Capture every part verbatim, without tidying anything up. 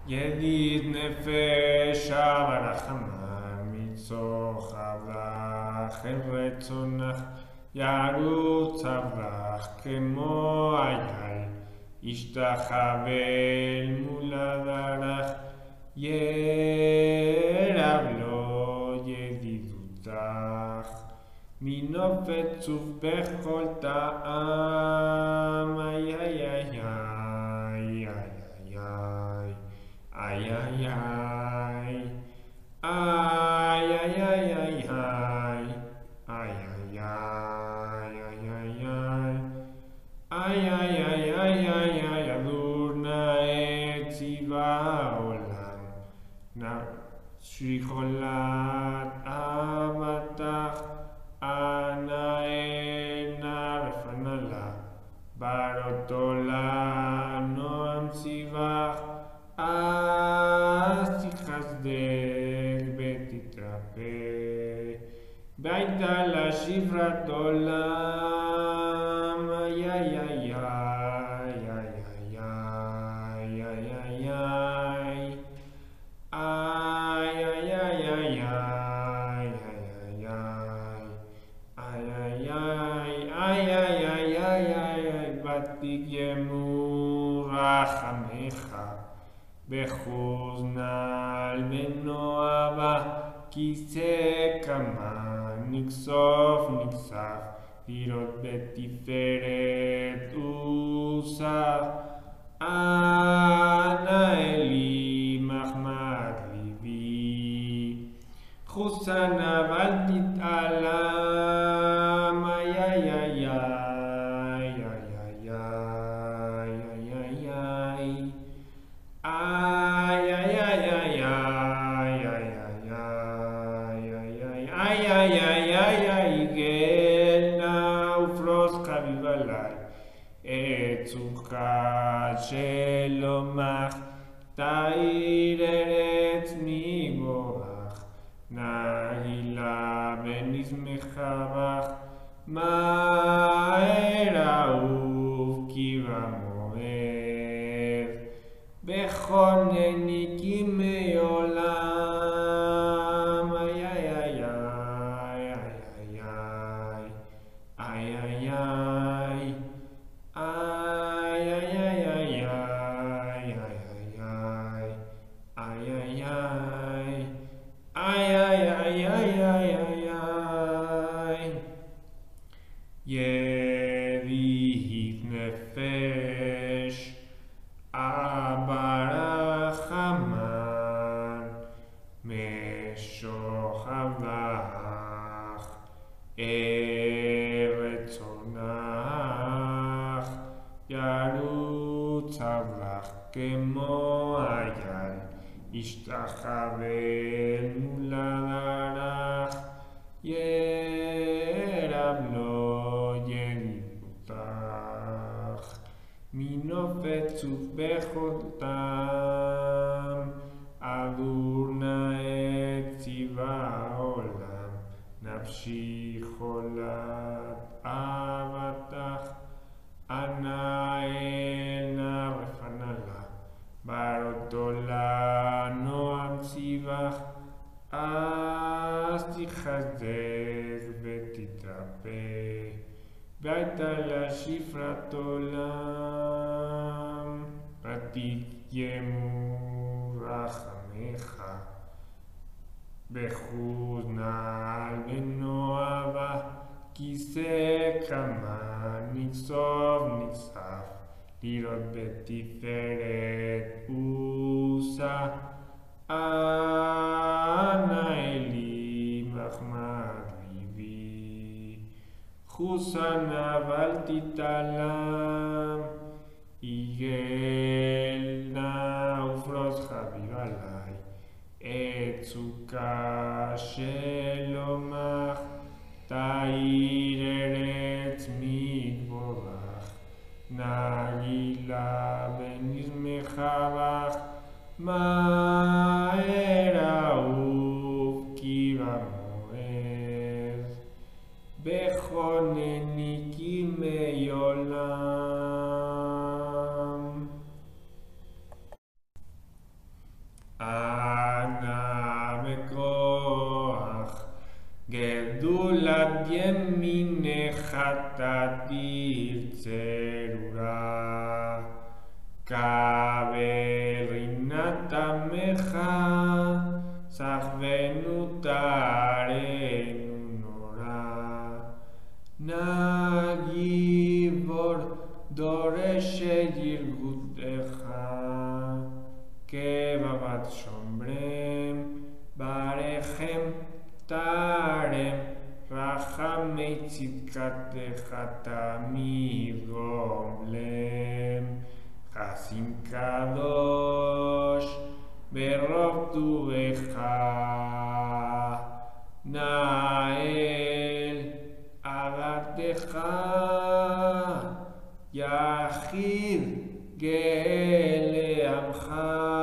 ידיד נפש הרחמן מצוחך לך אל רצונך ירוץ אברך כמו אייל ישתחווה אל מול עברך ירב לו ידידותך מנופת צוף בכל טעם איי איי איי איי איי איי איי איי איי איי איי איי איי איי עבור נאה ציווה העולם נפשי חולת אהבתך אנא אנא רפנה לה ברות עולם נועם ציווך אז תחסדך ותתרפא והייתה לה שפרת עולם איי איי איי איי איי איי ותגיימו רחמך בחוזנל ונועבה כיסא כמה נכסוף נכסף לראות בתפארת עושה אנא אלי מחמד ליבי חוסנה ואל תתעלם איי איי איי שלומך תאיר ארץ מבורך נהילה ונשמחה בך מהר אהוב כי במועד בכונני כימי עולם איי איי איי איי איי איי ידיד נפש הרחמן משוכב לך אל רצונך ירוץ אברך כמו אייל ישתחווה אל מול עברך ירב לו ידידותך מנופת צוף בכל טעם עבור נאה ציווה העולם נפשי חולת אהבתך אנא אנא רפנה לה ברות עולם נועם ציווך אז תחסדך ותתרפא והייתה לה שפרת עולם ותגיימו רחמך בחוזנל ונועבה כיסא כמה נכסוף נכסף לראות בתפארת עושה אנא אלי מחמד ליבי חוסנה ואל תתעלם יגל נא ופרוס חביב עלי את סוכה שלומך תאיר ארץ מבורך נהילה ונשמחה בך מהר אהוב כי במועד בכונני כימי עולם ימינך תרצה קבל רינת עמך סחבנו תרנו נורא נגיבור דורש ירגותך כבבת שומרם ברכם תרם רחמי צדקתך תמיד גומלם חסין קדוש ברוב טובך נאל עבדך יחיד גאה לעמך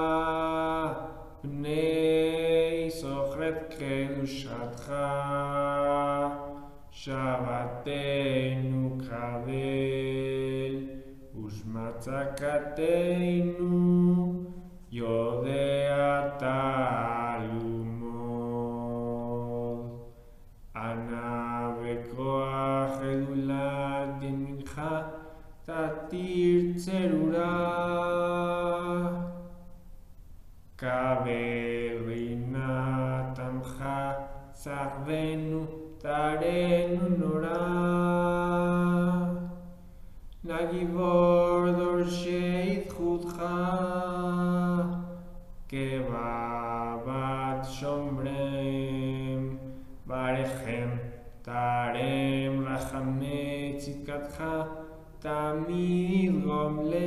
בני סוכרת קדושתך שבתנו קבל ושמע צעקתנו יודע תעלומות ענה בכוח אלולת ימינך תתיר צרורה קבל רינת עמך סחבנו תרנו נורא נגיבור דורשי זכותך כבבת שומרם ברכם תרם רחמי צדקתך תמיד גומלם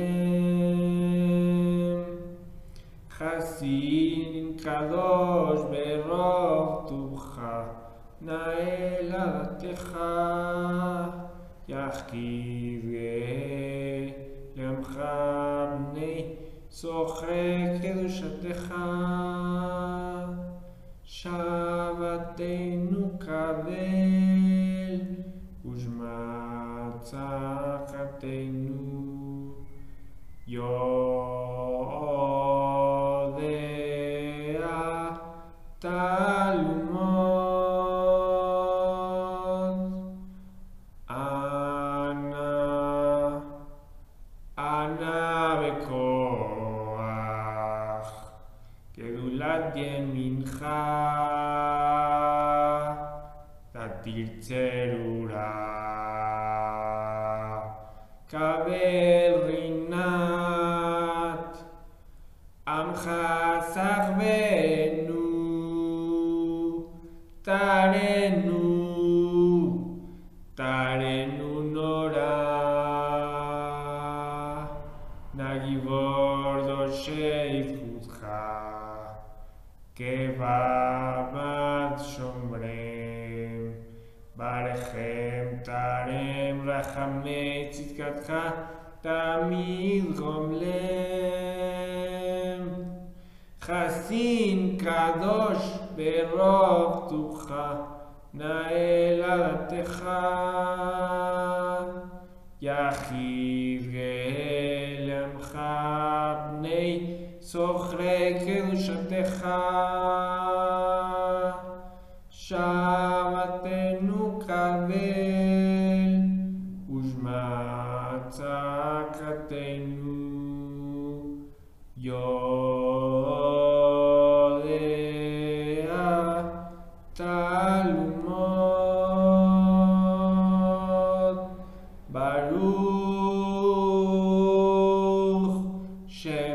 חסין קדוש ברוב טובך נאל עבדך יחיד גאה לעמך בני סוכרי קדושתך שבתנו קבל ושמע צעקתנו יודע תעלומות ענה ענה בכוח גדולת ימינך תתיר צרורה קבל רינת עמך סחבנו תרנו תרנו נורא נגיבור דורשי זכותך כבבת שומרם ברכם תרם רחמי צדקתך תמיד גומלם חסין קדוש ברוב טובך נאל עבדך יחיד גאה לעמך בני סוכרי קדושתך שבתנו קבל ושמע צעקתנו יודע תעלומות ברוך שם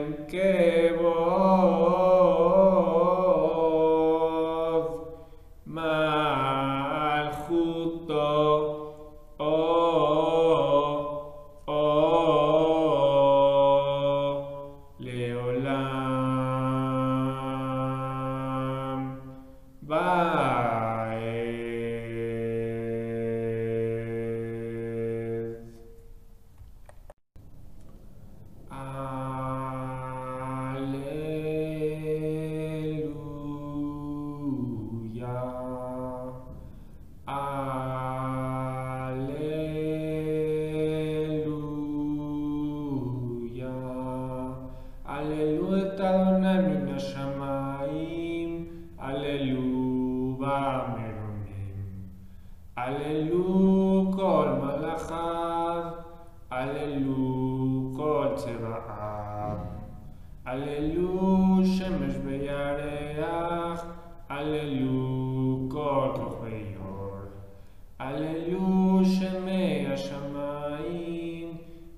כבוד מלכותו לעולם ועד. Alleluia, Alleluia, Alleluia את אדוני מן השמיים, Alleluia במרומים, הללו כל מלאכיו, הללו כל צבאיו, הללו שמש וירח, הללו כל כוכבי אור, הללו שמי השמיים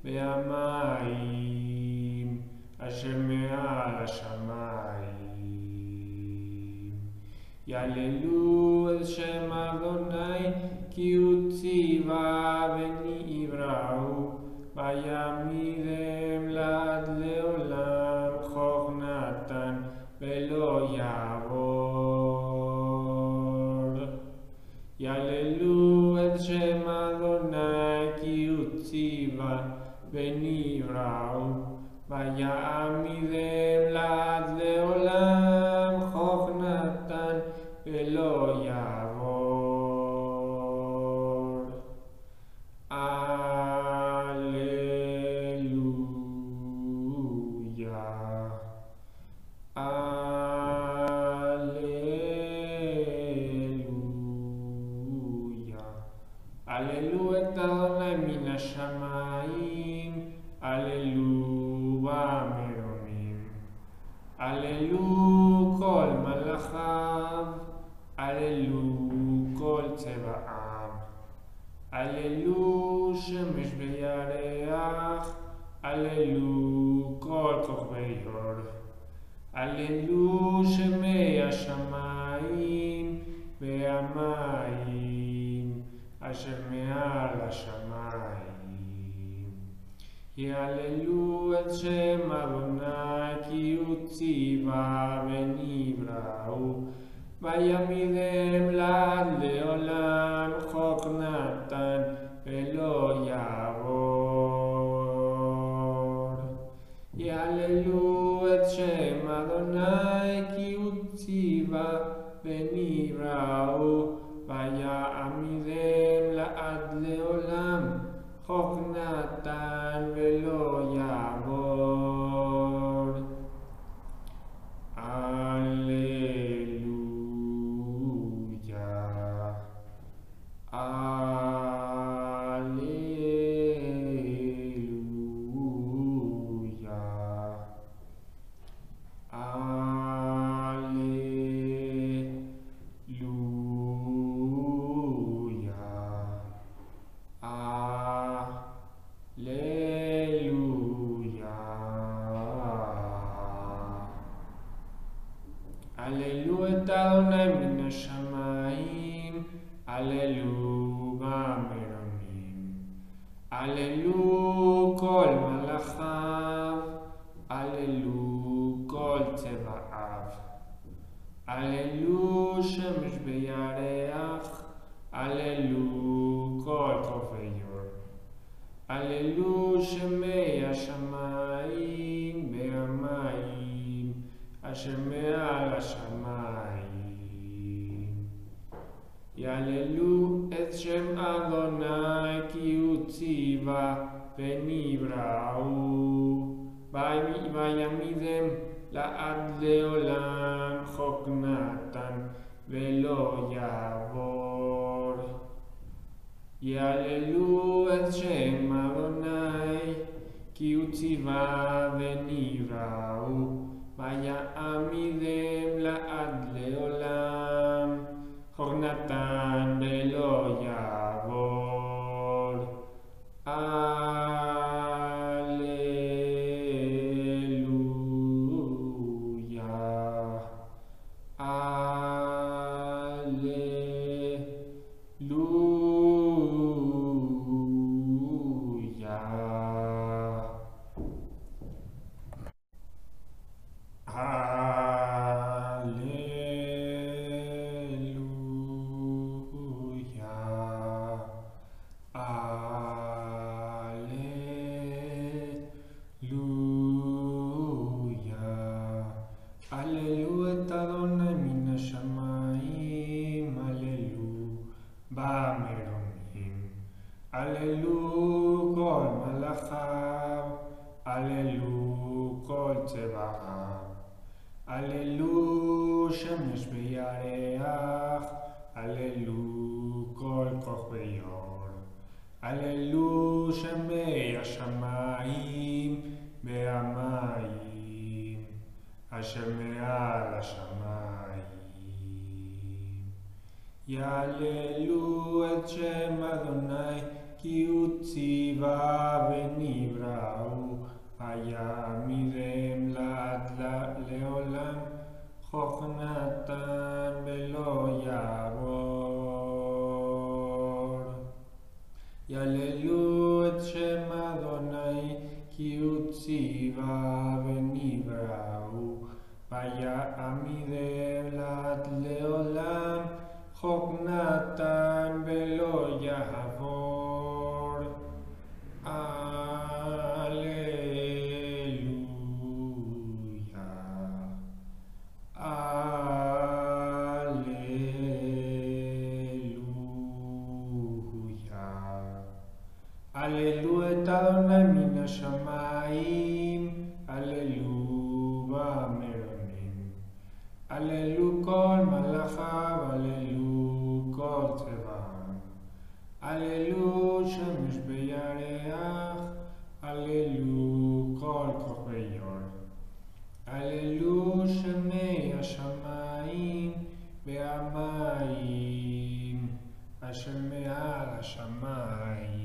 והמים אשר מעל השמיים. יהללו את שם אדוני כי הוא ציווה ונבראו, ויעמידם לעד לעולם, חוק נתן ולא יעבור. יהללו את שם אדוני כי הוא ציווה ונבראו, ויעמידם לעד לעולם, חוק נתן ולא יעבור. Alleluia. Alleluia. הללו את אדוני מן השמיים, הללו במרומים, הללו כל מלאכיו, הללו כל צבאיו, הללו שמש וירח, הללו כל כוכבי אור, הללו שמי השמיים והמים אשר מעל השמיים. יהללו את שם אדוני כי הוא ציווה ונבראו, ויעמידם לעד לעולם, חוק נתן ולא יעבור. יהללו את שם אדוני כי הוא ציווה ונבראו, ויעמידם לעד לעולם, חוק נתן ולא יעבור. הללויה. הללויה. הללו את אדוני מן השמיים, הללו במרומים, הללו כל מלאכיו, הללו כל צבאיו, הללו שמש וירח, הללו כל כוכבי אור, הללו שמי השמיים והמים אשר מעל השמיים. יהללו את שם אדוני כי הוא ציווה ונבראו, ויעמידם לעד לעולם, חוק נתן ולא יעבור. יהללו את שם אדוני כי הוא ציווה ונבראו, ויעמידם לעד לעולם, חוק נתן ולא יעבור. הללויה. הללויה. הללו את אדוני מן השמיים, הללו במרומים, הללו כל מלאכיו, הללו כל צבאיו, הללו שמש וירח, הללו כל כל כוכבי אור. הללו שמי השמיים והמים, אשר מעל השמיים. יהללו את שם אדוני, כי הוא ציווה ונבראו, ויעמידם לעד לעולם, חוק נתן ולא יעבור. יהללו את שם אדוני, כי הוא ציווה ונבראו, ויעמידם לעד לעולם, חוק נתן ולא יעבור. הללו את אדוני מן השמיים, הללו במרמים. הללו כל מלאכיו, הללו כל צבאם. הללו שמש בירח, הללו כל כוכבי אור. הללו שמי השמיים והמים, אשר מעל השמיים.